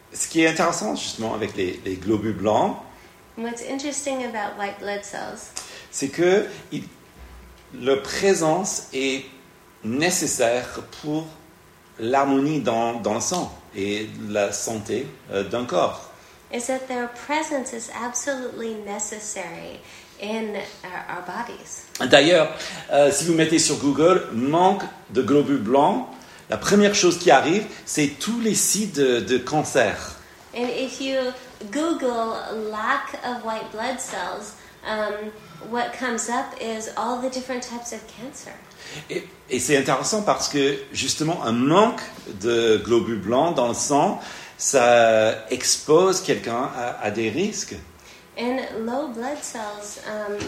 ce qui est intéressant justement avec les globules blancs, What's interesting about white blood cells c'est que leur présence est nécessaire pour l'harmonie dans le sang et la santé d'un corps. is that their presence is absolutely necessary in our bodies. D'ailleurs, si vous mettez sur Google « manque de globules blancs », la première chose qui arrive, c'est tous les sites de cancer. And if you Google lack of white blood cells, what comes up is all the different types of cancer. Et c'est intéressant parce que justement un manque de globules blancs dans le sang, ça expose quelqu'un à des risques. And low blood cells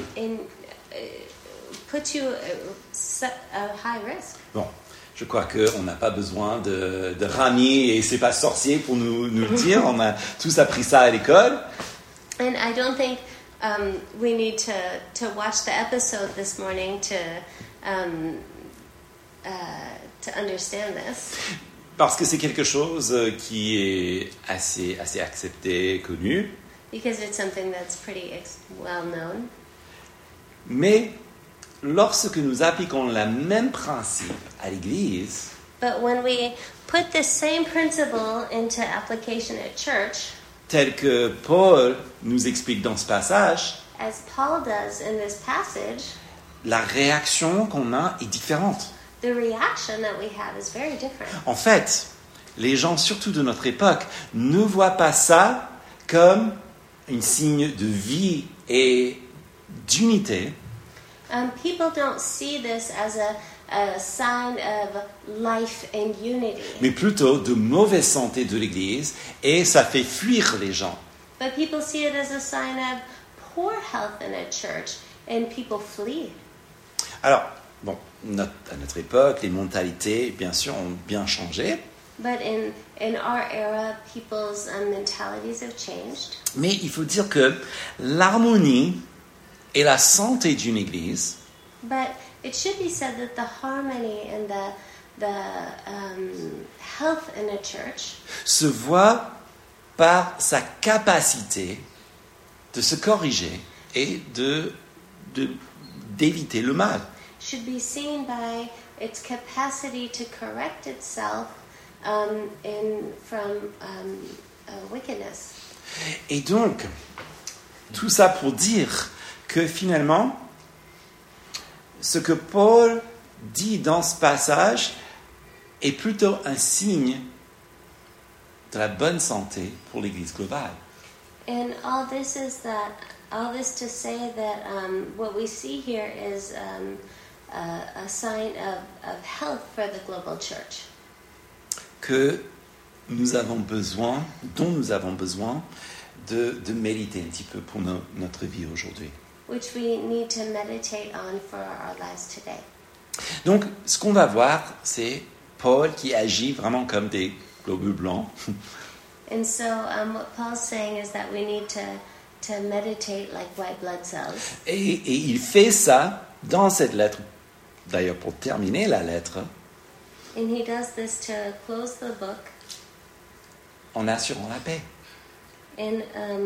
put you at high risk. Bon, je crois qu'on n'a pas besoin de Rami et c'est pas sorcier pour nous le dire. On a tous appris ça à l'école. And I don't think we need to watch the episode this morning to understand this. Parce que c'est quelque chose qui est assez accepté, connu. Because it's something that's pretty well known. Mais lorsque nous appliquons le même principe à l'Église, But when we put the same principle into application at church, tel que Paul nous explique dans ce passage, as Paul does in this passage, la réaction qu'on a est différente. the reaction that we have is very different. En fait, les gens, surtout de notre époque, ne voient pas ça comme un signe de vie et d'unité, People don't see this as a sign of life and unity, mais plutôt de mauvaise santé de l'Église, et ça fait fuir les gens. but people see it as a sign of poor health in a church, and people flee. Alors, bon, à notre époque, les mentalités, bien sûr, ont bien changé, But in our era, people's mentalities have changed. mais il faut dire que l'harmonie et la santé d'une Église But it should be said that the harmony and the health in a church se voit par sa capacité de se corriger et d'éviter le mal. should be seen by its capacity to correct itself from wickedness. Et donc, tout ça pour dire que finalement, ce que Paul dit dans ce passage est plutôt un signe de la bonne santé pour l'Église globale. And all this to say that what we see here is a sign of health for the global church. Que nous avons besoin, dont nous avons besoin de méditer un petit peu pour notre vie aujourd'hui. Which we need to meditate on for our lives today. Donc, ce qu'on va voir, c'est Paul qui agit vraiment comme des globules blancs. And so what Paul's saying is that we need to meditate like white blood cells. Et il fait ça dans cette lettre. D'ailleurs, pour terminer la lettre, And he does this to close the book en assurant la paix. in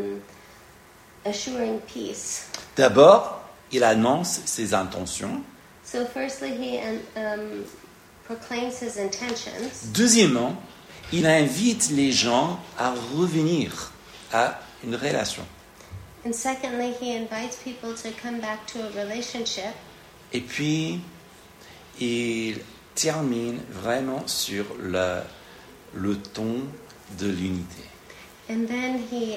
assuring peace. D'abord, il annonce ses intentions. So firstly, he proclaims his intentions. Deuxièmement, il invite les gens à revenir à une relation. And secondly, he invites people to come back to a relationship. Et puis, il termine vraiment sur le ton de l'unité. And then he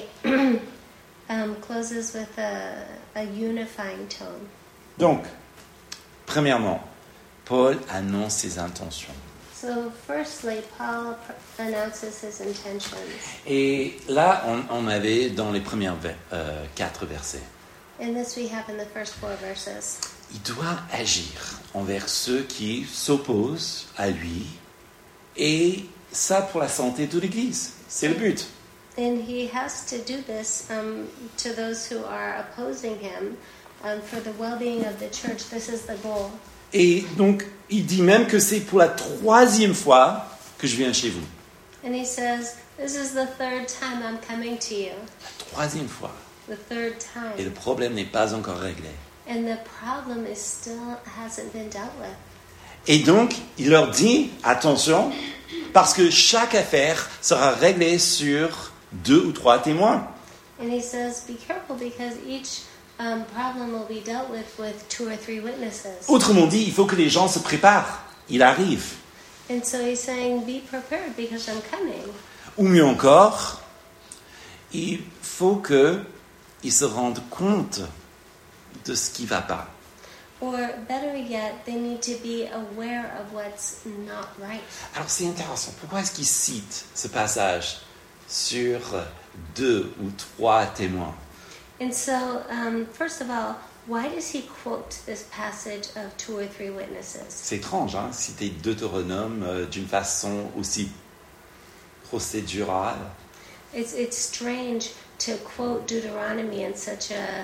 closes with a unifying tone. Donc, premièrement, Paul annonce ses intentions. So firstly, Paul announces his intentions. Et là, on avait dans les premiers 4 versets. And this we have in the first 4 verses. Il doit agir envers ceux qui s'opposent à lui, et ça pour la santé de l'Église. C'est le but. And he has to do this to those who are opposing him for the well-being of the church. This is the goal. Et donc, il dit même que c'est pour la 3e fois que je viens chez vous. And he says, This is the third time I'm coming to you. La troisième fois. The third Et le time. problème n'est pas encore réglé. And the problem is still hasn't been dealt with. Et donc, il leur dit, attention, parce que chaque affaire sera réglée sur 2 ou 3 témoins. And he says, be careful because each problem will be dealt with 2 or 3 witnesses. Autrement dit, il faut que les gens se préparent. Il arrive. And so he's saying, be prepared because I'm coming. Ou mieux encore, il faut qu'ils se rendent compte de ce qui ne va pas. Or better yet, they need to be aware of what's not right. Alors c'est intéressant. Pourquoi est-ce qu'il cite ce passage sur 2 ou 3 témoins? And so, first of all, why does he quote this passage of 2 or 3 witnesses? C'est étrange, hein, citer Deutéronome d'une façon aussi procédurale. It's strange to quote Deuteronomy in such a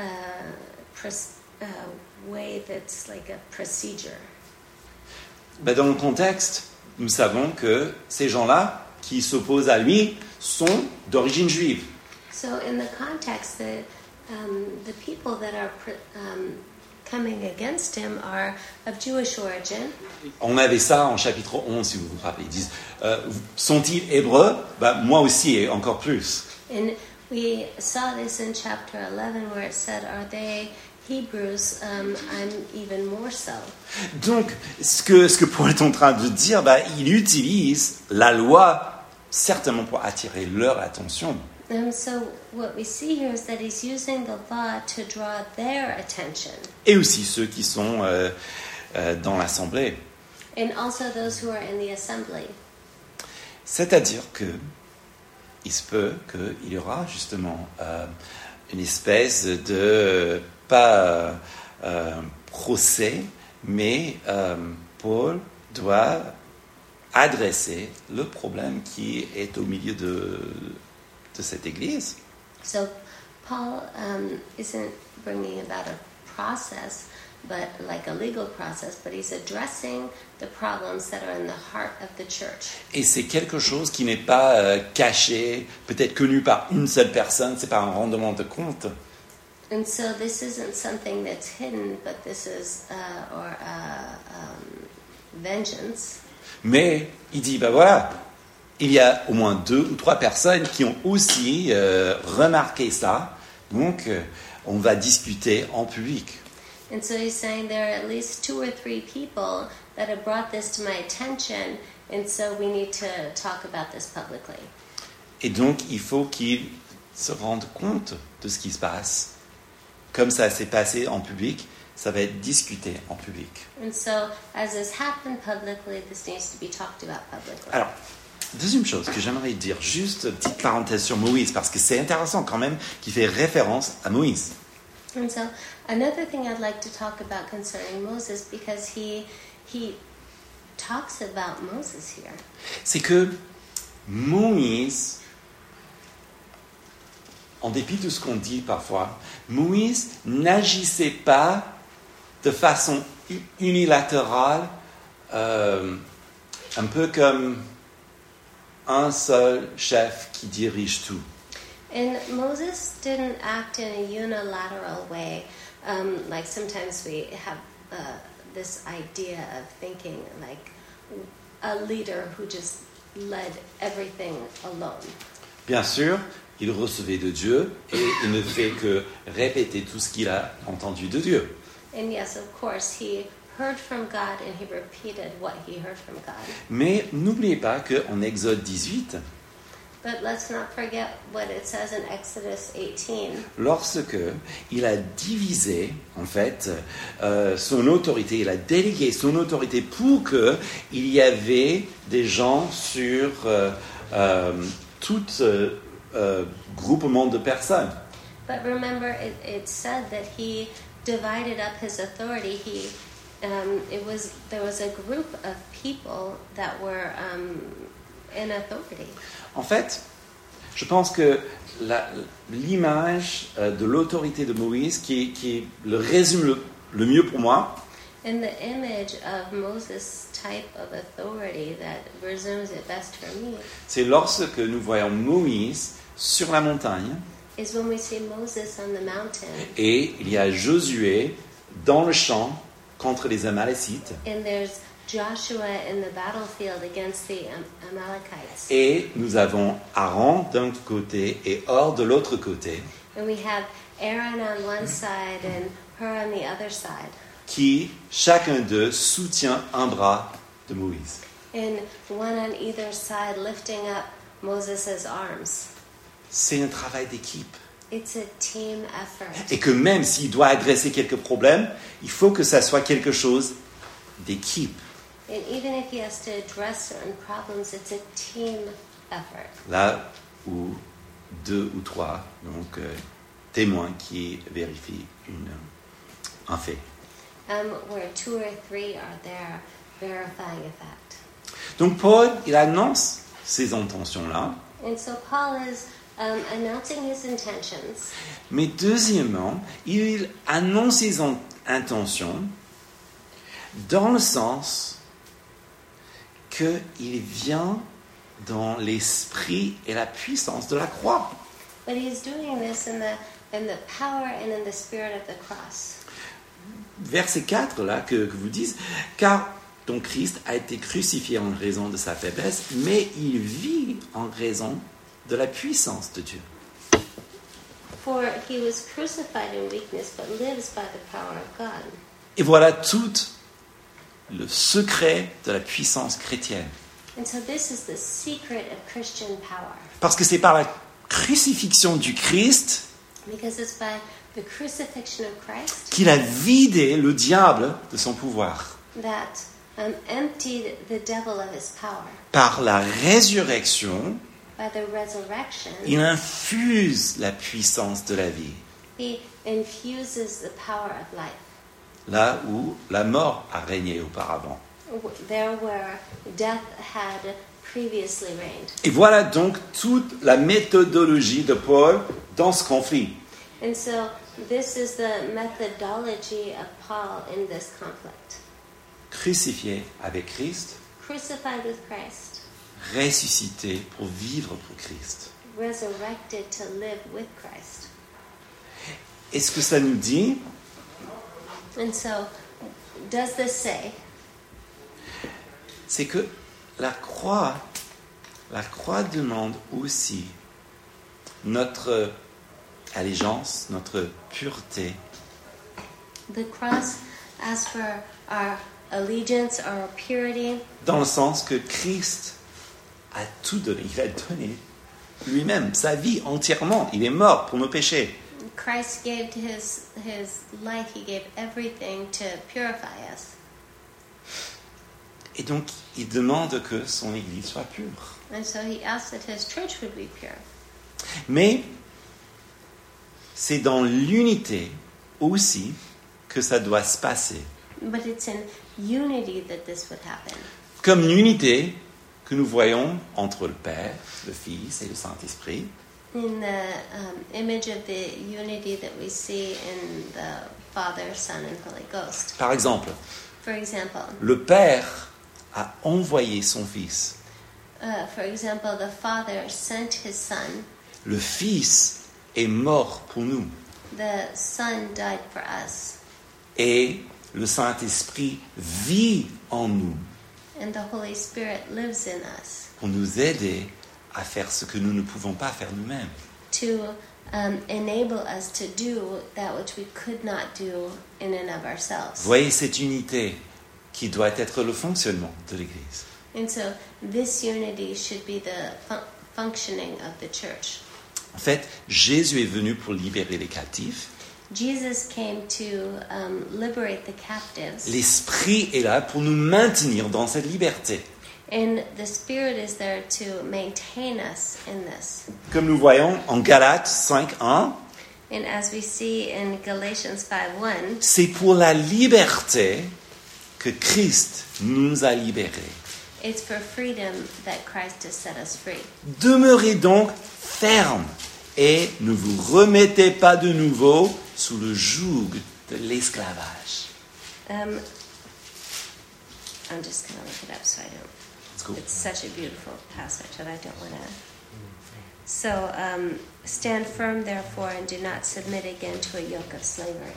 way that's like a procedure. Dans le contexte, nous savons que ces gens-là qui s'opposent à lui sont d'origine juive. So in the context, the people that are coming against him are of Jewish origin. On avait ça en chapitre 11, si vous vous rappelez. Ils disent, sont-ils hébreux? Moi aussi, et encore plus. And we saw this in chapter 11 where it said, are they Hebrews? I'm even more so. Donc, ce que Paul est en train de dire, il utilise la loi certainement pour attirer leur attention. And so what we see here is that he's using the law to draw their attention. Et aussi ceux qui sont dans l'assemblée. And also those who are in the assembly. C'est-à-dire que il se peut qu'il y aura justement une espèce de, pas procès, mais Paul doit adresser le problème qui est au milieu de cette église. So Paul isn't bringing about a process, but like a legal process, but he's addressing the problems that are in the heart of the church. Et c'est quelque chose qui n'est pas caché, peut-être connu par une seule personne, c'est pas un rendement de compte. And so this isn't something that's hidden, but this is vengeance. Mais il dit, voilà, il y a au moins 2 ou 3 personnes qui ont aussi remarqué ça, donc on va discuter en public. And so he's saying there are at least 2 or 3 people that have brought this to my attention, and so we need to talk about this publicly. Et donc il faut qu'ils se rendent compte de ce qui se passe. Comme ça s'est passé en public, ça va être discuté en public. And so as this happened publicly, this needs to be talked about publicly. Alors, deuxième chose que j'aimerais dire, juste petite parenthèse sur Moïse, parce que c'est intéressant quand même qu'il fait référence à Moïse. And so another thing I'd like to talk about concerning Moses, because he talks about Moses here. C'est que Moïse, en dépit de ce qu'on dit parfois, Moïse n'agissait pas de façon unilatérale, un peu comme un seul chef qui dirige tout. And Moses didn't act in a unilateral way, like sometimes we have this idea of thinking like a leader who just led everything alone. Bien sûr, il recevait de Dieu et il ne fait que répéter tout ce qu'il a entendu de Dieu. And yes, of course, he heard from God and he repeated what he heard from God. Mais n'oubliez pas qu'en Exode 18, But let's not forget what it says in Exodus 18. lorsque il a divisé, en fait, son autorité, il a délégué son autorité pour qu'il y avait des gens sur tout groupement de personnes. But remember, it said that he divided up his authority. There was a group of people that were in authority. En fait, je pense que l'image de l'autorité de Moïse, qui le résume le mieux pour moi, In the image of Moses' type of authority that resumes it best for me c'est lorsque nous voyons Moïse sur la montagne is when we see Moses on the mountain et il y a Josué dans le champ contre les Amalécites and there's Joshua in the battlefield against the Amalekites. et nous avons Aaron d'un côté et Hor de l'autre côté And we have Aaron on one side and Hur on the other side. qui, chacun d'eux, soutient un bras de Moïse. And one on either side lifting up Moses' arms. C'est un travail d'équipe. It's a team effort. Et que même s'il doit adresser quelques problèmes, il faut que ça soit quelque chose d'équipe. And even if he has to address certain problems, it's a team effort. Là où 2 ou 3 donc, témoins qui vérifient un fait. Where 2 or 3 are there verifying a fact. Donc Paul, il annonce ces intentions-là. And so Paul is announcing his intentions. Mais deuxièmement, il annonce ses intentions dans le sens qu'il vient dans l'esprit et la puissance de la croix. But he's doing this in the power and in the spirit of the cross. Verset 4, là, que vous dites, car ton Christ a été crucifié en raison de sa faiblesse, mais il vit en raison de la puissance de Dieu. For he was crucified in weakness, but lives by the power of God. Et voilà tout le secret de la puissance chrétienne. And so this is the secret of Christian power. Parce que c'est par la crucifixion du Christ Because it's by the crucifixion of Christ qu'il a vidé le diable de son pouvoir. that emptied the devil of his power. Par la résurrection, By the resurrection, il infuse la puissance de la vie. he infuses the power of life. Là où la mort a régné auparavant. There where death had previously reigned. Et voilà donc toute la méthodologie de Paul dans ce conflit. And so this is the methodology of Paul in this conflict. Crucifié avec Christ, Crucified with Christ, ressuscité pour vivre pour Christ. resurrected to live with Christ. Et ce que ça nous dit, And so, does this say c'est que la croix demande aussi notre allégeance, notre pureté, the cross asks for our allegiance, our purity, dans le sens que Christ a tout donné. Il a donné lui-même, sa vie entièrement. Il est mort pour nos péchés. Christ gave his life, he gave everything to purify us. Et donc, il demande que son Église soit pure. And so he asked that his church would be pure. Mais c'est dans l'unité aussi que ça doit se passer. But it's in unity that this would happen. Comme l'unité que nous voyons entre le Père, le Fils et le Saint-Esprit. In the image of the unity that we see in the Father, Son, and Holy Ghost. Par exemple, For example, le Père a envoyé son Fils. the Father sent his Son. Le Fils est mort pour nous. The Son died for us. Et le Saint-Esprit vit en nous And the Holy Spirit lives in us pour nous aider à faire ce que nous ne pouvons pas faire nous-mêmes. to enable us to do that which we could not do in and of ourselves. Voyez cette unité qui doit être le fonctionnement de l'Église. And so this unity should be the functioning of the church. En fait, Jésus est venu pour libérer les captifs. Jesus came to liberate the captives, L'Esprit est là pour nous maintenir dans cette liberté. and the Spirit is there to maintain us in this. Comme nous voyons en Galates 5:1, And as we see in Galatians 5:1, c'est pour la liberté que Christ nous a libérés. it's for freedom that Christ has set us free. Demeurez donc fermes et ne vous remettez pas de nouveau sous le joug de l'esclavage. I'm just going to look it up so I don't. Let's go. It's such a beautiful passage that I don't want to. So, stand firm, therefore, and do not submit again to a yoke of slavery.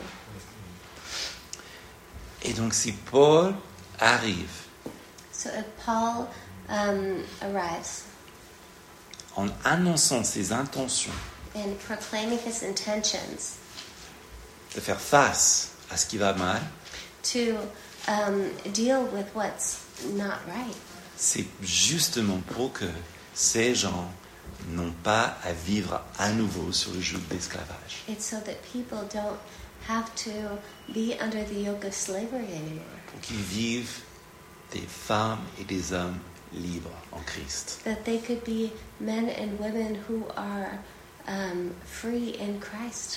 Et donc si Paul arrive So if Paul arrives en annonçant ses intentions and proclaiming his intentions de faire face à ce qui va mal, to deal with what's not right, c'est justement pour que ces gens n'ont pas à vivre à nouveau sur le joug d'esclavage. it's so that people don't have to be under the yoke of slavery anymore. Pour qu'ils vivent des femmes et des hommes libres en Christ. That they could be men and women who are free in Christ.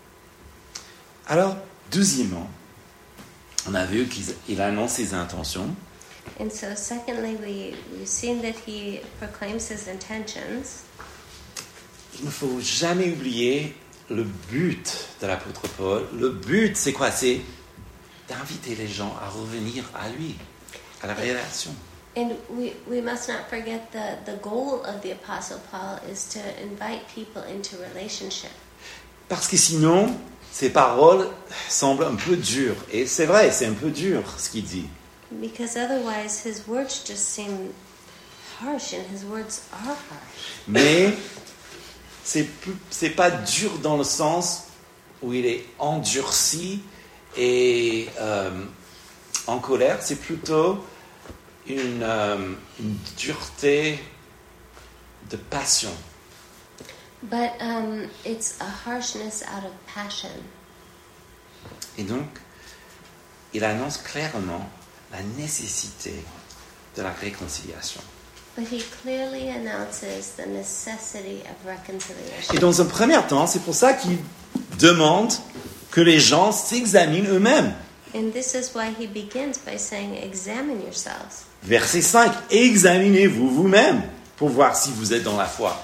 Alors, deuxièmement, on a vu qu'il annonce ses intentions. And so secondly, we've seen that he proclaims his intentions. Il ne faut jamais oublier le but de l'apôtre Paul. Le but, c'est quoi? C'est d'inviter les gens à revenir à lui, à la relation. And we must not forget the goal of the Apostle Paul is to invite people into relationship. Parce que sinon, ses paroles semblent un peu dures. Et c'est vrai, c'est un peu dur ce qu'il dit. Because otherwise his words just seem harsh, and his words are harsh. Mais c'est pas dur dans le sens où il est endurci et en colère. C'est plutôt une dureté de passion. But it's a harshness out of passion. Et donc, il annonce clairement la nécessité de la réconciliation. But he clearly announces the necessity of reconciliation. Et dans un premier temps, c'est pour ça qu'il demande que les gens s'examinent eux-mêmes. And this is why he begins by saying, examine yourselves. Verset 5, examinez-vous vous-même pour voir si vous êtes dans la foi.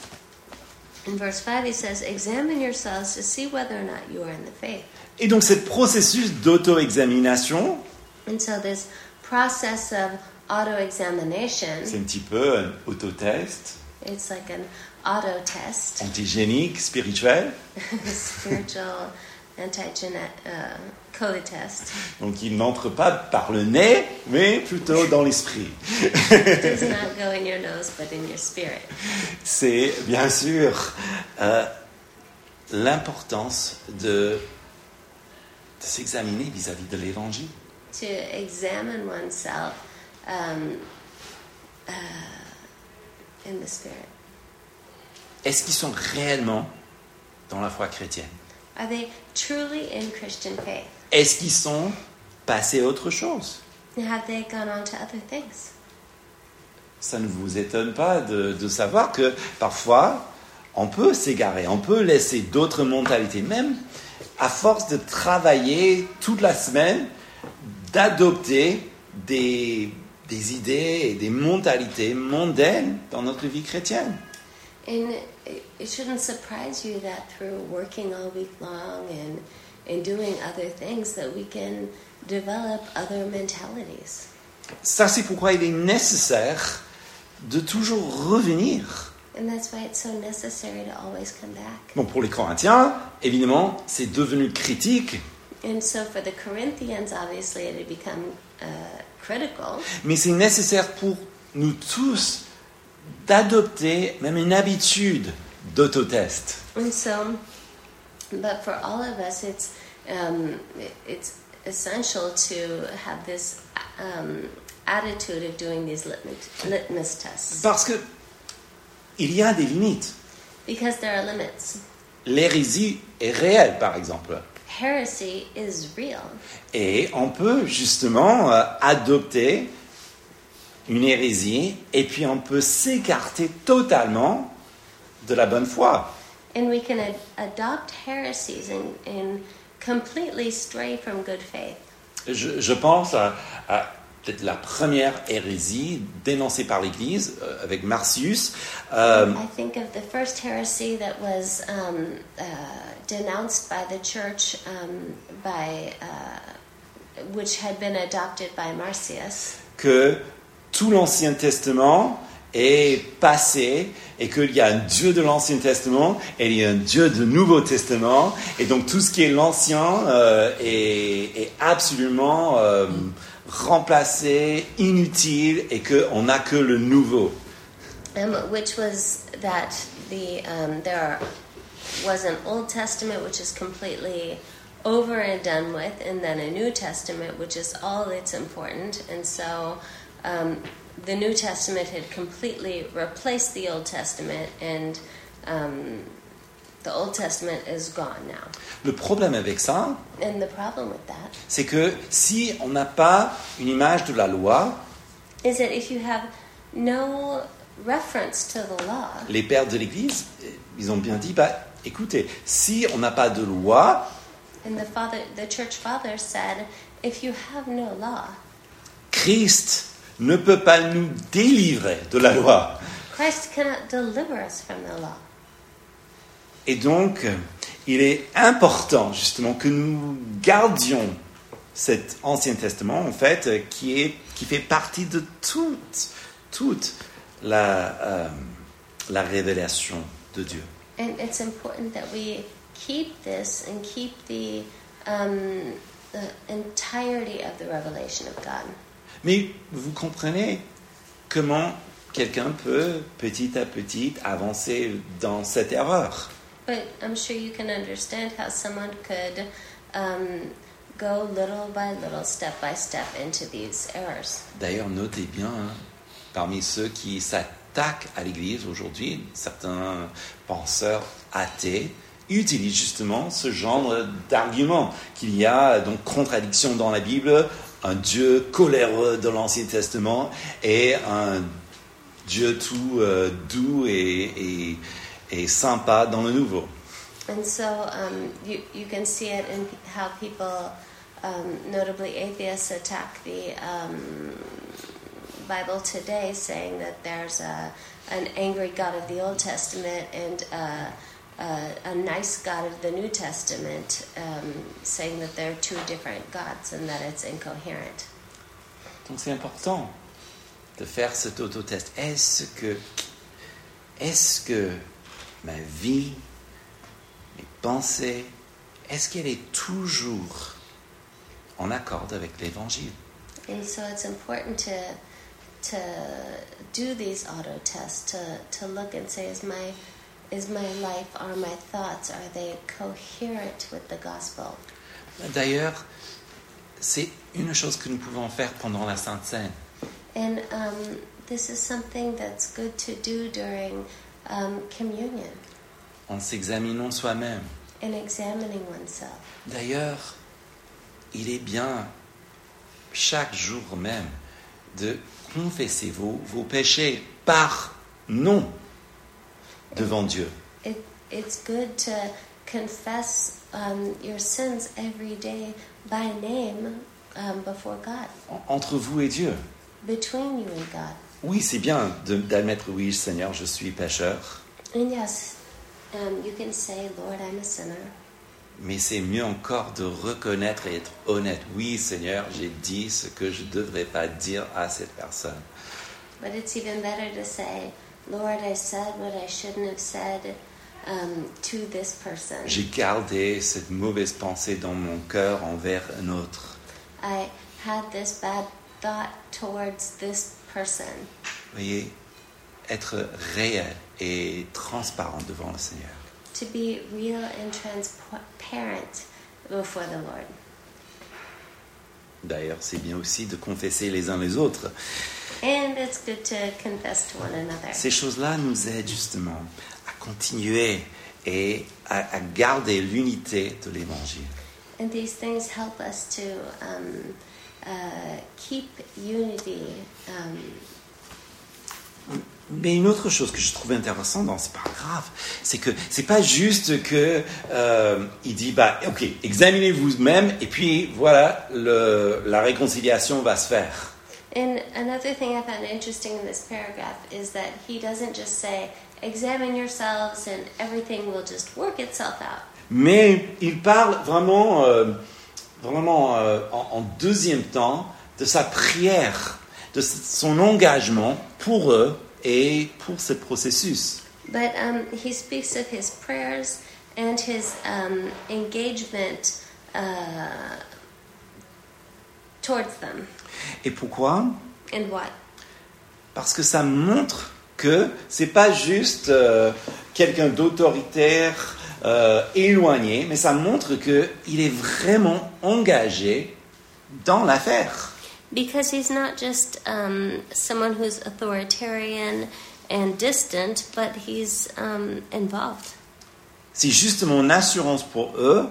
In verse 5 he says, examine yourselves to see whether or not you are in the faith. Et donc, ce processus d'auto-examination, And so this process of auto-examination, c'est un petit peu un autotest, it's like an auto-test, antigénique, spirituel. spiritual code test. Donc, il n'entre pas par le nez, mais plutôt dans l'esprit. It does not go in your nose, but in your spirit. C'est bien sûr l'importance de s'examiner vis-à-vis de l'évangile. To examine oneself in the spirit. Est-ce qu'ils sont réellement dans la foi chrétienne? Are they truly in Christian faith? Est-ce qu'ils sont passés à autre chose? Have they gone on to other things? Ça ne vous étonne pas de savoir que parfois, on peut s'égarer, on peut laisser d'autres mentalités, même à force de travailler toute la semaine, d'adopter des idées et des mentalités mondaines dans notre vie chrétienne. And it shouldn't surprise you that through working all week long and doing other things that we can develop other mentalities. Ça, c'est pourquoi il est nécessaire de toujours revenir. And that's why it's so necessary to always come back. Bon, pour les Corinthiens, évidemment, c'est devenu critique, And so for the Corinthians, obviously, it had become critical. mais c'est nécessaire pour nous tous d'adopter même une habitude d'autotest. And so, but for all of us, it's essential to have this attitude of doing these litmus tests. Parce que il y a des limites. Because there are limits. L'hérésie est réelle, par exemple. Heresy is real. Et on peut justement adopter une hérésie et puis on peut s'écarter totalement de la bonne foi. And we can adopt heresies and completely stray from good faith. Je pense à peut-être la première hérésie dénoncée par l'Église avec Marcius. I think of the first heresy that was denounced by the church, which had been adopted by Marcius. que tout l'Ancien Testament est passé et qu'il y a un Dieu de l'Ancien Testament et il y a un Dieu du Nouveau Testament. Et donc tout ce qui est l'Ancien est absolument remplacé, inutile et qu'on n'a que le Nouveau. Which was that there was an Old Testament which is completely over and done with, and then a New Testament which is all that's important. And so the New Testament had completely replaced the Old Testament, and the Old Testament is gone now. Le problème avec ça, And the problem with that c'est que si on n'a pas une image de la loi, is that if you have no reference to the law, les pères de l'Église, ils ont bien dit, écoutez, si on n'a pas de loi, and the church fathers said, if you have no law, Christ ne peut pas nous délivrer de la loi. Christ cannot deliver us from the law. Et donc, il est important justement que nous gardions cet Ancien Testament, en fait, qui fait partie de toute la révélation de Dieu. And it's important that we keep this and keep the entirety of the revelation of God. Mais vous comprenez comment quelqu'un peut petit à petit avancer dans cette erreur. But I'm sure you can understand how someone could go little by little, step by step into these errors. D'ailleurs, notez bien, parmi ceux qui s'attaquent à l'Église aujourd'hui, certains penseurs athées utilisent justement ce genre d'argument, qu'il y a donc contradiction dans la Bible, un Dieu coléreux dans l'Ancien Testament et un Dieu tout doux et sympa dans le Nouveau. And so you can see it in how people, notably atheists, attack the Bible today, saying that there's an angry God of the Old Testament and a nice God of the New Testament, saying that they're two different gods and that it's incoherent. Donc c'est important de faire cet autotest. Est-ce que ma vie, mes pensées, est-ce qu'elle est toujours en accord avec l'Évangile? And so it's important to do these auto tests, to look and say, is my life, are my thoughts, are they coherent with the gospel? D'ailleurs, c'est une chose que nous pouvons faire pendant la Sainte Seine. And this is something that's good to do during communion. En s'examinant soi-même. And examining oneself. D'ailleurs, il est bien chaque jour même de confesser vos péchés par nom devant Dieu. It's good to confess your sins every day by name before God. Entre vous et Dieu. Between you and God. Oui, c'est bien d'admettre, oui, Seigneur, je suis pécheur. And yes, you can say, Lord, I'm a sinner. Mais c'est mieux encore de reconnaître et être honnête. Oui, Seigneur, j'ai dit ce que je ne devrais pas dire à cette personne. But it's even better to say, Lord, I said what I shouldn't have said to this person. J'ai gardé cette mauvaise pensée dans mon cœur envers un autre. I had this bad thought towards this person. Voyez, être réel et transparent devant le Seigneur. To be real and transparent before the Lord. D'ailleurs, c'est bien aussi de confesser les uns les autres. And it's good to confess to one another. Ces choses-là nous aident justement à continuer et à garder l'unité de l'Évangile. And these things help us to keep unity. Mais une autre chose que je trouve intéressante dans ce paragraphe, c'est que c'est pas juste que il dit ok, examinez vous-même et puis voilà, la réconciliation va se faire. And another thing I found interesting in this paragraph is that he doesn't just say, examine yourselves and everything will just work itself out. Mais il parle vraiment en deuxième temps de sa prière de son engagement pour eux et pour ce processus. But he speaks of his prayers and his engagement towards them. Et pourquoi? And what? Parce que ça montre que c'est pas juste quelqu'un d'autoritaire éloigné, mais ça montre qu'il est vraiment engagé dans l'affaire. Because he's not just someone who's authoritarian and distant, but he's involved. C'est justement une assurance pour eux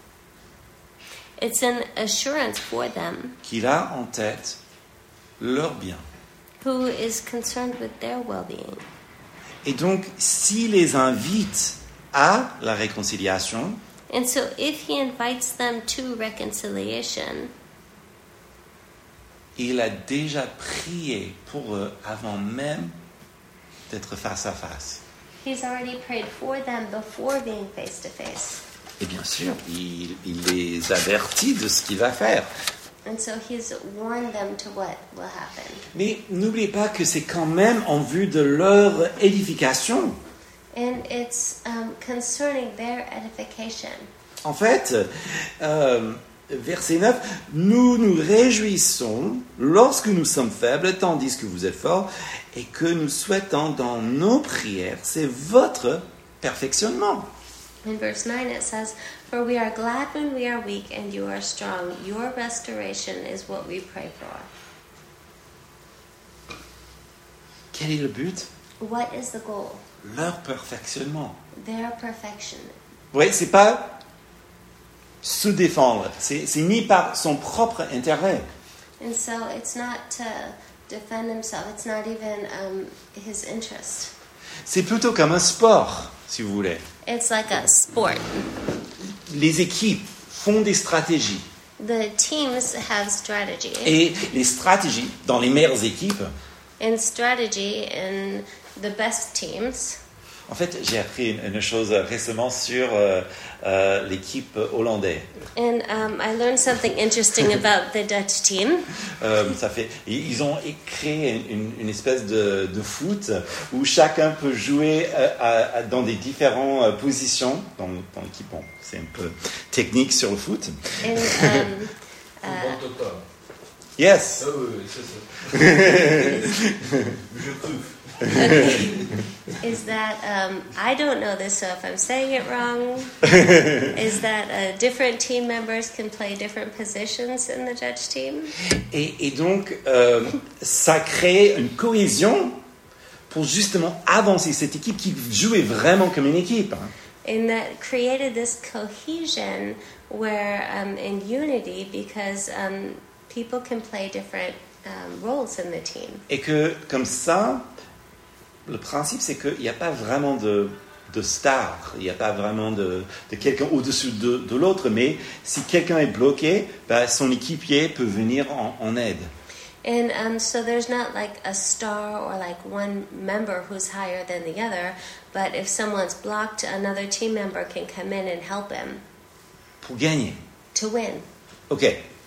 It's an assurance for them qu'il a en tête leur bien. who is concerned with their well-being. Et donc, s'il les invite à la réconciliation, And so if he invites them to reconciliation, il a déjà prié pour eux avant même d'être face à face. he's already prayed for them before being face to face. Et bien sûr, il les avertit de ce qu'il va faire. And so he's warned them to what will happen. Mais n'oubliez pas que c'est quand même en vue de leur édification. And it's concerning their edification. En fait, verset 9, « Nous nous réjouissons lorsque nous sommes faibles, tandis que vous êtes forts, et que nous souhaitons dans nos prières, c'est votre perfectionnement. » In verse 9 it says, "For we are glad when we are weak and you are strong. Your restoration is what we pray for." Quel est le but? What is the goal? Leur perfectionnement. Their perfection. Oui, c'est pas se défendre, c'est ni par son propre intérêt. And so it's not to defend himself. It's not even his interest. C'est plutôt comme un sport, si vous voulez. It's like a sport. Les équipes font des stratégies. The teams have strategy. Et les stratégies dans les meilleures équipes, And strategy in the best teams. en fait, j'ai appris une chose récemment sur l'équipe hollandaise. And I learned something interesting about the Dutch team. Ils ont créé une espèce de foot où chacun peut jouer dans des différentes positions dans l'équipe. Bon, c'est un peu technique sur le foot. And, Yes. Ah oui, c'est ça. Je trouve. is that I don't know this, so if I'm saying it wrong, is that different team members can play different positions in the Dutch team? Et donc, ça crée une cohésion pour justement avancer cette équipe qui jouait vraiment comme une équipe. And that created this cohesion where in unity, because people can play different roles in the team. Et que comme ça, le principe c'est qu'il n'y a pas vraiment de star, il n'y a pas vraiment de quelqu'un au-dessus de l'autre, mais si quelqu'un est bloqué, son équipier peut venir en aide. And so there's not like a star or like one member who's higher than the other, but if someone's blocked, another team member can come in and help him Pour gagner. to win. Ok.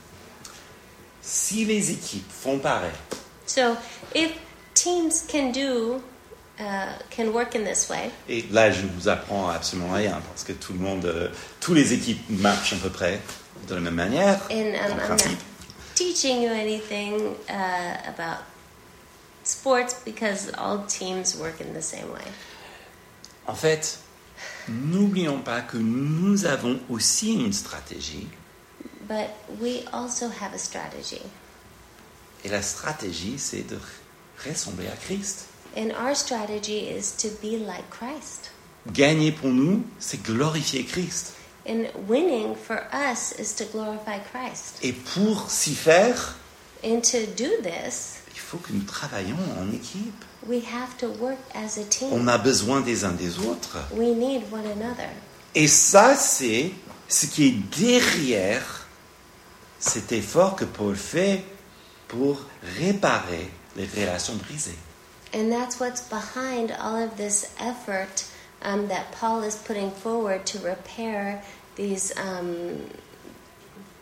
Si les équipes font pareil, So if teams can work in this way, et là je ne vous apprends absolument rien parce que tout le monde, tous les équipes marchent à peu près de la même manière, and en I'm not principe. teaching you anything about sports because all teams work in the same way. En fait, n'oublions pas que nous avons aussi une stratégie, But we also have a strategy. et la stratégie c'est de ressembler à Christ. And our strategy is to be like Christ. Gagner pour nous, c'est glorifier Christ. And winning for us is to glorify Christ. Et pour s'y faire, And to do this, il faut que nous travaillions en équipe. we have to work as a team. On a besoin des uns des autres. We need one another. Et ça, c'est ce qui est derrière cet effort que Paul fait pour réparer les relations brisées. And that's what's behind all of this effort that Paul is putting forward to repair these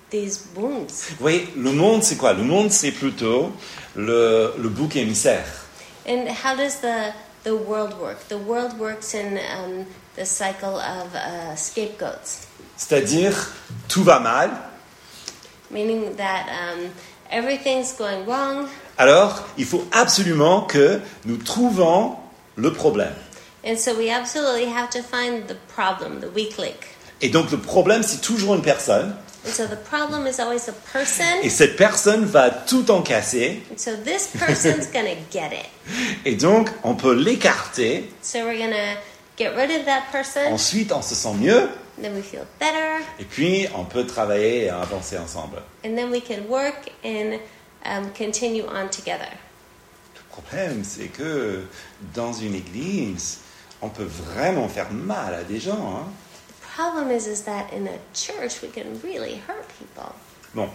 these wounds. Vous voyez, le monde, c'est quoi? Le monde, c'est plutôt le bouc émissaire. And how does the world work? The world works in the cycle of scapegoats, C'est-à-dire, tout va mal, meaning that everything's going wrong. alors il faut absolument que nous trouvions le problème. And so we absolutely have to find the problem, the weak link. Et donc le problème, c'est toujours une personne, And so the problem is always a person. et cette personne va tout encasser, And so this person's going to get it. et donc on peut l'écarter, So we're going to get rid of that person. ensuite on se sent mieux, Then we feel better. et puis on peut travailler et avancer ensemble. And then we can work and continue on together. Le problème, c'est que dans une église, on peut vraiment faire mal à des gens. Hein. The problem is that in a church we can really hurt people. Bon,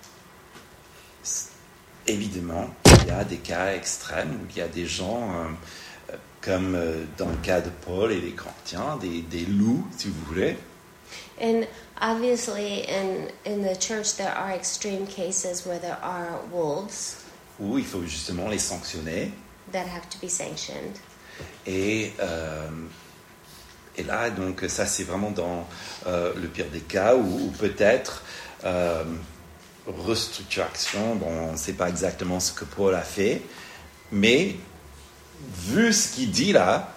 évidemment, il y a des cas extrêmes où il y a des gens, comme dans le cas de Paul et les Corinthiens, des loups, si vous voulez. And obviously in the church there are extreme cases where there are wolves Où il faut justement les sanctionner. that have to be sanctioned. Et là, donc, ça, c'est vraiment dans le pire des cas, ou peut-être restructuration. Bon, on ne sait pas exactement ce que Paul a fait, mais vu ce qu'il dit là,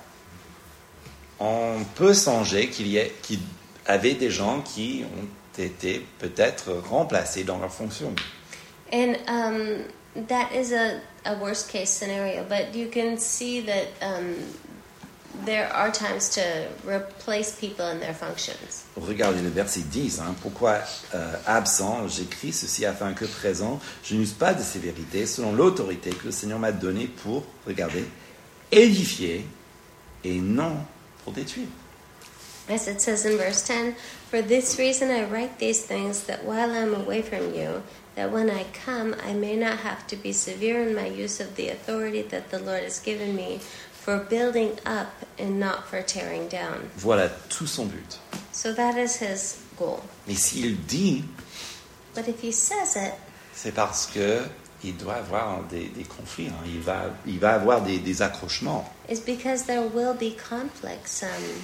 on peut songer qu'il y avait des gens qui ont été peut-être remplacés dans leur fonction. And that is a worst case scenario, but you can see that there are times to replace people in their functions. Regardez le verset 10. Hein, pourquoi absent, j'écris ceci afin que présent, je n'use pas de sévérité selon l'autorité que le Seigneur m'a donnée pour, regardez, édifier et non pour détruire. As it says in verse 10, "For this reason I write these things, that while I am away from you, that when I come I may not have to be severe in my use of the authority that the Lord has given me, for building up and not for tearing down." Voilà tout son but. So that is his goal. Mais s'il dit, But if he says it, c'est parce que il doit avoir des conflits. Hein, il va avoir des accrochements. it's because there will be conflicts.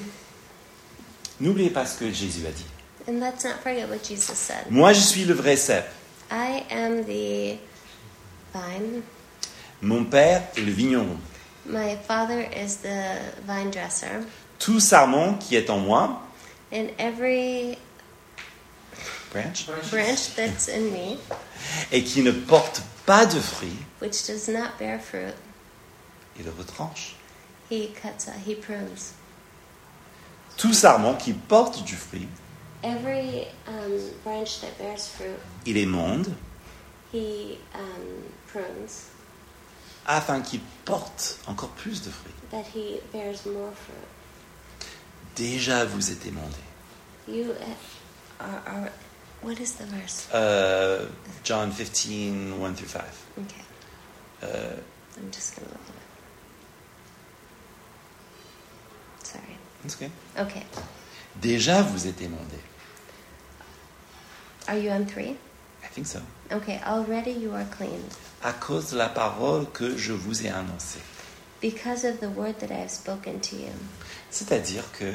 N'oubliez pas ce que Jésus a dit. And let's not forget what Jesus said. Moi, je suis le vrai cep. I am the vine. Mon père est le vigneron. My father is the vine dresser. Tout sarment qui est en moi, And every branch, branch that's in me, et qui ne porte pas de fruits, which does not bear fruit, il le retranche. he cuts out, he prunes. Tout sarment qui porte du fruit, Every branch that bears fruit, il émonde he prunes, afin qu'il porte encore plus de fruits. that he bears more fruit. Déjà, vous êtes émondés. You are what is the verse? John 15, 1 through 5. Okay, I'm just going to look it up. Sorry. That's okay. Okay, Déjà, vous êtes émondés. are you on 3? I think so. Okay, already you are clean, À cause de la parole que je vous ai annoncée. because of the word that I have spoken to you. C'est-à-dire que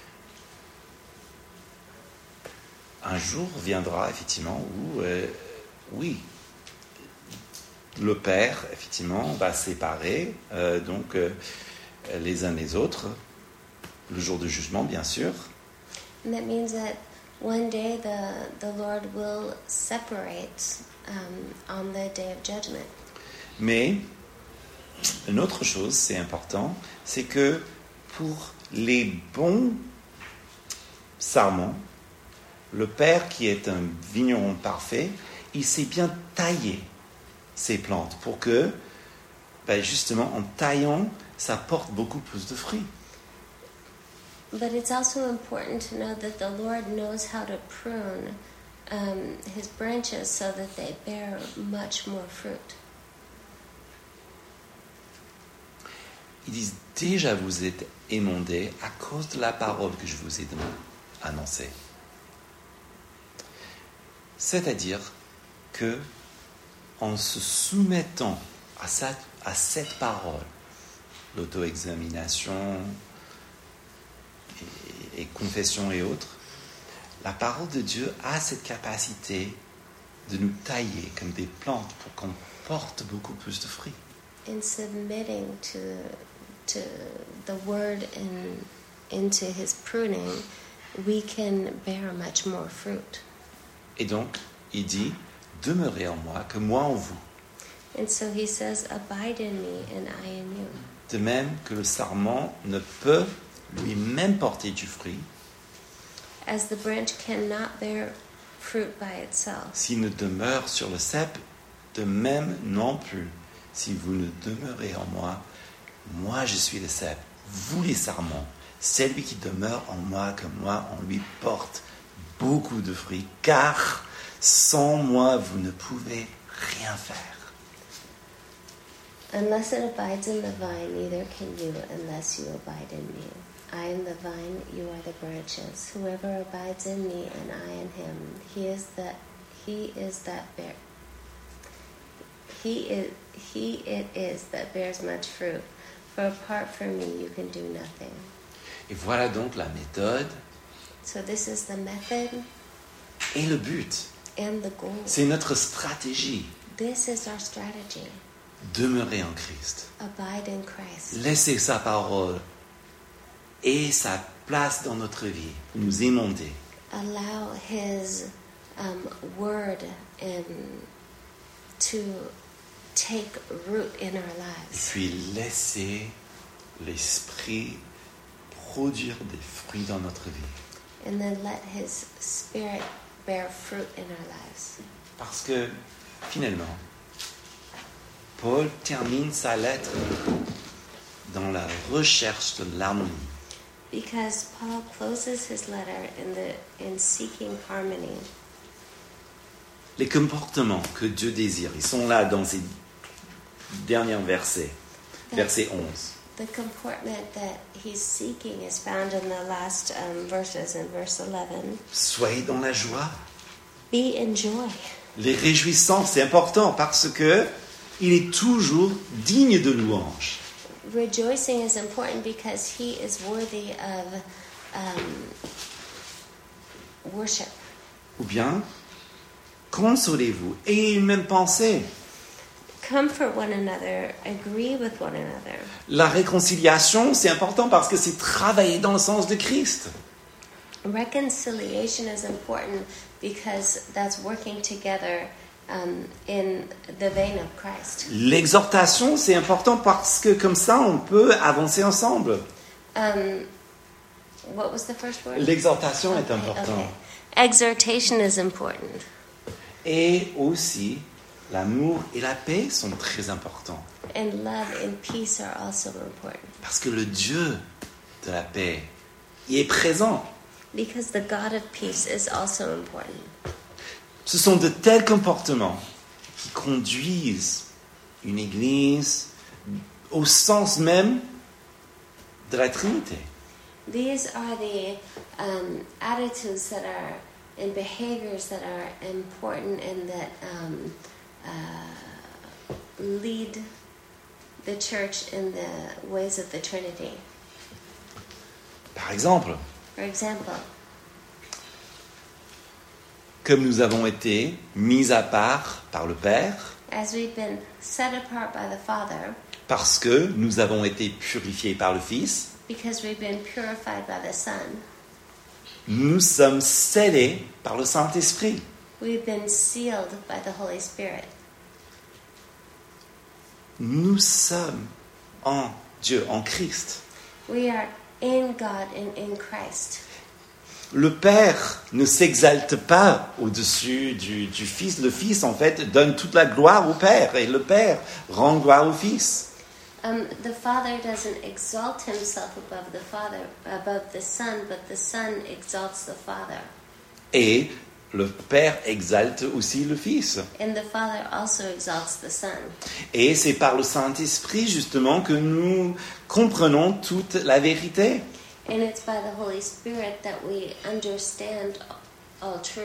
un jour viendra effectivement où, oui, le Père effectivement va séparer les uns les autres, le jour du jugement bien sûr, And that means that one day the Lord will separate on the day of judgment. mais une autre chose, c'est important, c'est que pour les bons sarments, le Père qui est un vigneron parfait, il sait bien tailler ces plantes pour que, justement, en taillant, ça porte beaucoup plus de fruits. But it's also important to know that the Lord knows how to prune his branches so that they bear much more fruit. Ils disent déjà vous êtes émondés à cause de la parole que je vous ai annoncée. C'est-à-dire que en se soumettant à cette parole, l'auto-examination et confession et autres, la parole de Dieu a cette capacité de nous tailler comme des plantes pour qu'on porte beaucoup plus de fruits. In submitting to the word and into his pruning, we can bear much more fruit. Et donc, il dit, demeurez en moi, que moi en vous. And so he says, abide in me and I in you. De même que le sarment ne peut lui-même porter du fruit As the branch cannot bear fruit by itself, s'il ne demeure sur le cep, de même non plus. Si vous ne demeurez en moi, moi je suis le cep, vous les sarments. Celui qui demeure en moi, comme moi, en lui porte beaucoup de fruits, car sans moi, vous ne pouvez rien faire. unless it abides in the vine, neither can you unless you abide in me. I am the vine, you are the branches. Whoever abides in me and I in him, he it is that bears much fruit. For apart from me, you can do nothing. Et voilà donc la méthode So this is the method et le but. and the goal. C'est notre stratégie. This is our strategy. Demeurer en Christ. Abide in Christ. Laisser sa parole et sa place dans notre vie, nous émonder. Allow his word and to take root in our Et lives. puis laisser l'Esprit produire des fruits dans notre vie. And then let his spirit bear fruit in our lives. Parce que finalement, Paul termine sa lettre dans la recherche de l'harmonie. Because Paul closes his letter in seeking harmony. Les comportements que Dieu désire, ils sont là dans ces derniers versets, verset 11. The comportment that he's seeking is found in the last verses in verse 11. Soyez dans la joie. Be in joy. Les réjouissances, c'est important parce que il est toujours digne de louange. Rejoicing is important because he is worthy of worship. Ou bien, consolez-vous, ayez une même pensée. Comfort one another, agree with one another. La réconciliation, c'est important parce que c'est travailler dans le sens de Christ. Reconciliation is important because that's working together in the vein of Christ. L'exhortation, c'est important parce que comme ça, on peut avancer ensemble. What was the first word? L'exhortation est importante. Okay. Exhortation is important. Et aussi, l'amour et la paix sont très importants. And love and peace are also important. Parce que le Dieu de la paix, il est présent. Because the God of peace is also important. Ce sont de tels comportements qui conduisent une église au sens même de la Trinité. These are the attitudes that are and behaviors that are important and that lead the church in the ways of the Trinity. Par exemple, For example, comme nous avons été mis à part par le Père, as we've been set apart by the Father, parce que nous avons été purifiés par le Fils, because we've been purified by the Son, nous sommes scellés par le Saint-Esprit. we've been sealed by the Holy Spirit. Nous sommes en Dieu, en Christ. We are in God and in Christ. Le Père ne s'exalte pas au-dessus du Fils. Le Fils, en fait, donne toute la gloire au Père. Et le Père rend gloire au Fils. The Father doesn't exalt himself above the Son, but the Son exalts the Father. Et le Père exalte aussi le Fils. And the Father also exalts the Son. Et c'est par le Saint-Esprit, justement, que nous comprenons toute la vérité. And it's by the Holy Spirit that we understand all truth.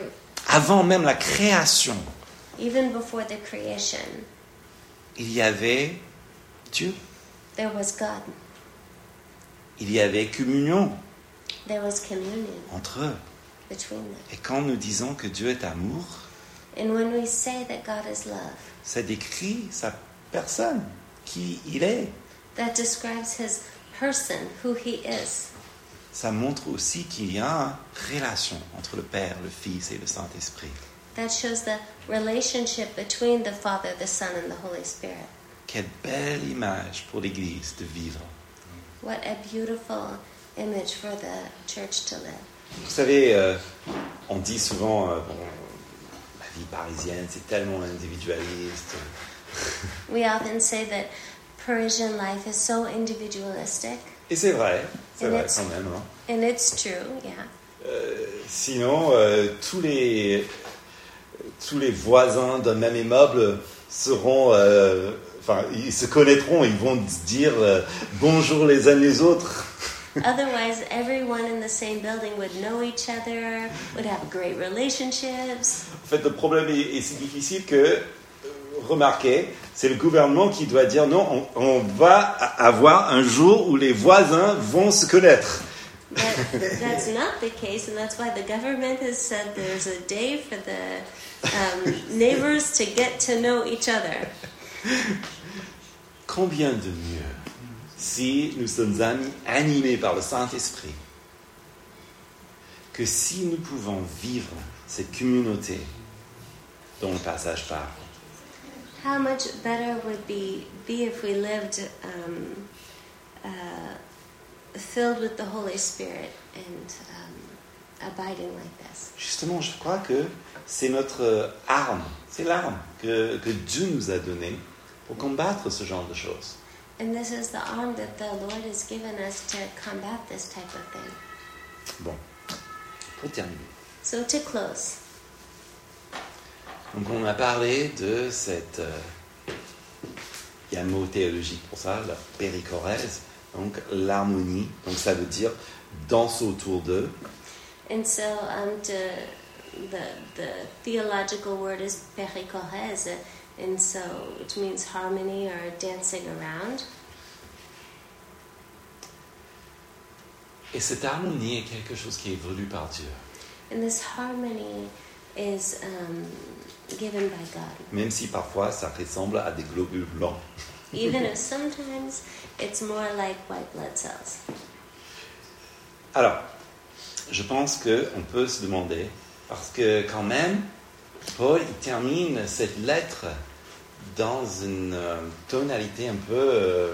Avant même la création, even before the creation, il y avait Dieu. there was God. Il y avait communion There was communion entre eux. between them. Et quand nous disons que Dieu est amour, And when we say that God is love, ça décrit sa personne, qui il est. that describes his person, who he is. Ça montre aussi qu'il y a une relation entre le Père, le Fils et le Saint-Esprit. That shows the relationship between the Father, the Son, and the Holy Spirit. Quelle belle image pour l'Église de vivre. What a beautiful image for the church to live. Vous savez, on dit souvent, la vie parisienne, c'est tellement individualiste. We often say that Parisian life is so individualistic, Et c'est vrai And it's- quand même. Hein. and it's true, yeah. Sinon, tous les voisins d'un même immeuble seront, ils se connaîtront, ils vont se dire bonjour les uns les autres. Otherwise, everyone in the same building would know each other, would have great relationships. En fait, le problème est si difficile que, remarquez, c'est le gouvernement qui doit dire non, on va avoir un jour où les voisins vont se connaître. But that's not the case, and that's why the government has said there's a day for the neighbors to get to know each other. Combien de mieux si nous sommes animés par le Saint-Esprit que si nous pouvons vivre cette communauté dont le passage parle. How much better would be if we lived filled with the Holy Spirit and abiding like this. Justement, je crois que c'est notre arme, c'est l'arme que Dieu nous a donnée pour combattre ce genre de choses. And this is the arm that the Lord has given us to combat this type of thing. Bon, pour terminer. So to close, Donc on a parlé de cette... il y a un mot théologique pour ça, la périchorèse, donc l'harmonie, donc ça veut dire danse autour d'eux. and so the theological word is perichorèse, and so it means harmony or dancing around. Et cette harmonie est quelque chose qui est voulu par Dieu. And this harmony is given by God. Même si parfois ça ressemble à des globules blancs. Even if sometimes it's more like white blood cells. Alors, je pense qu'on peut se demander, parce que quand même, Paul il termine cette lettre dans une tonalité un peu...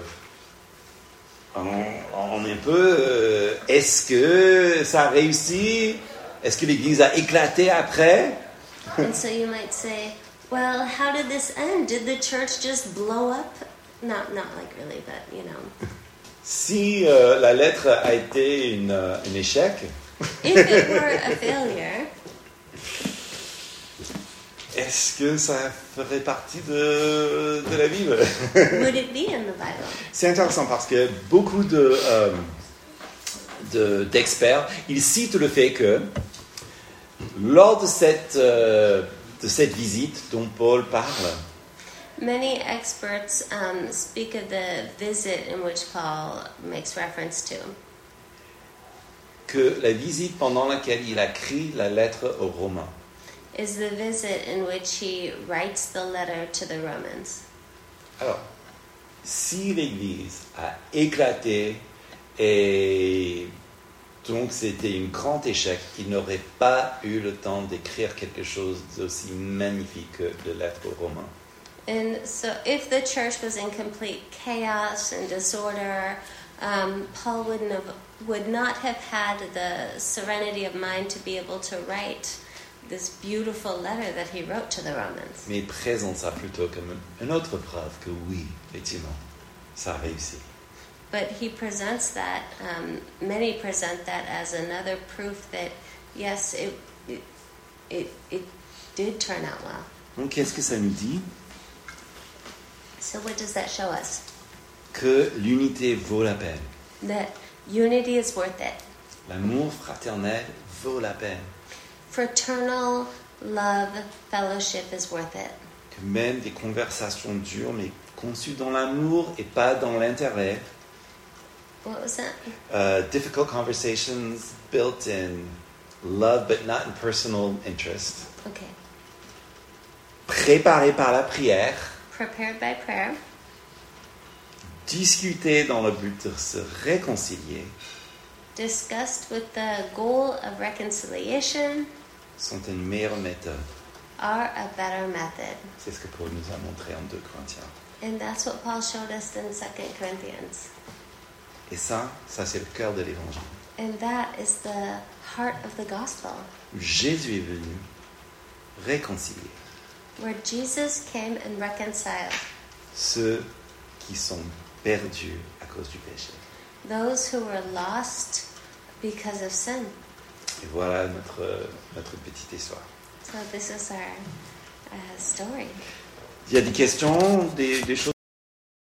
est-ce que ça a réussi? Est-ce que l'Église a éclaté après? And so you might say, well, how did this end? Did the church just blow up? Not like really, but you know. Si la lettre a été un échec, If it were a failure, est-ce que ça ferait partie de la Bible? would it be in the Bible? C'est intéressant parce que beaucoup d'experts, ils citent le fait que lors de cette visite dont Paul parle, Many experts speak of the visit in which Paul makes reference to. que la visite pendant laquelle il a écrit la lettre aux Romains, Is the visit in which he writes the letter to the Romans. alors, si l'Église a éclaté et donc c'était un grand échec, il n'aurait pas eu le temps d'écrire quelque chose d'aussi magnifique que la lettre aux Romains. And so if the church was in complete chaos and disorder, Paul would not have had the serenity of mind to be able to write this beautiful letter that he wrote to the Romans. Mais il présente ça plutôt comme une autre preuve que oui, effectivement, ça a réussi. But he presents that, many present that as another proof that, yes, it did turn out well. Donc qu'est-ce que ça nous dit? So what does that show us? Que l'unité vaut la peine. That unity is worth it. L'amour fraternel vaut la peine. fraternal love, fellowship is worth it. Que même des conversations dures, mais conçues dans l'amour et pas dans l'intérêt. What was that? Difficult conversations built in love but not in personal interest. Okay. Préparées par la prière. Prepared by prayer. Discutées dans le but de se réconcilier. Discussed with the goal of reconciliation. Sont une meilleure méthode. Are a better method. C'est ce que Paul nous a montré en 2 Corinthiens. And that's what Paul showed us in 2 Corinthians. Et ça c'est le cœur de l'évangile. And that is the heart of the gospel. Jésus est venu réconcilier Where Jesus came and reconciled ceux qui sont perdus à cause du péché. those who were lost because of sin. Et voilà notre petite histoire. So this is our story. Il y a des questions, des choses